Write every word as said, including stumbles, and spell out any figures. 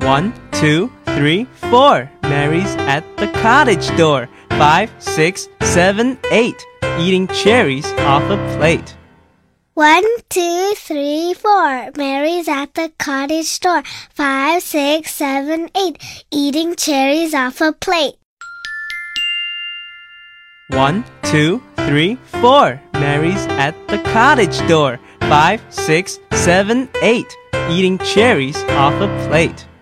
One, two, three, four. Mary's at the cottage door. Five, six, seven, eight. Eating cherries off a plate. One, two, three, four. Mary's at the cottage door. Five, six, seven, eight. Eating cherries off a plate. One, two, three, four. Mary's at the cottage door. Five, six, seven, eight. Eating cherries off a plate.